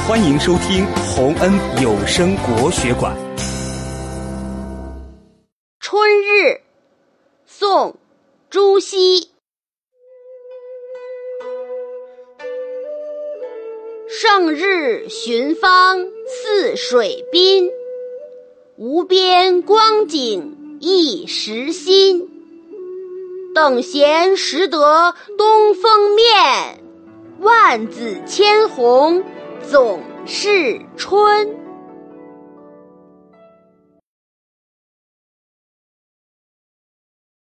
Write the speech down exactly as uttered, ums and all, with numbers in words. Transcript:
欢迎收听洪恩有声国学馆。 春日，宋·朱熹。胜日寻芳泗水滨，无边光景一时新。等闲识得东风面，万紫千红总是春。